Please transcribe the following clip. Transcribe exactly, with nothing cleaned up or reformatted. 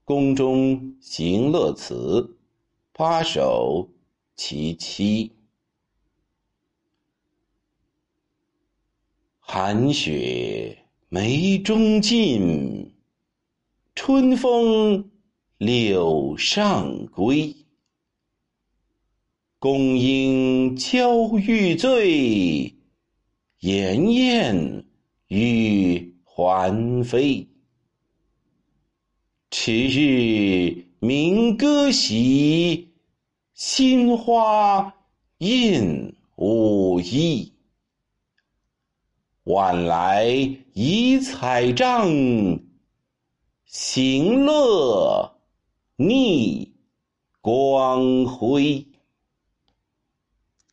宫中行乐词，八首其七。寒雪梅中尽，春风柳上归。宫应娇欲醉，炎燕欲还飞。迟日鸣歌席，新花映舞衣。晚来移彩帐，行乐逆光辉。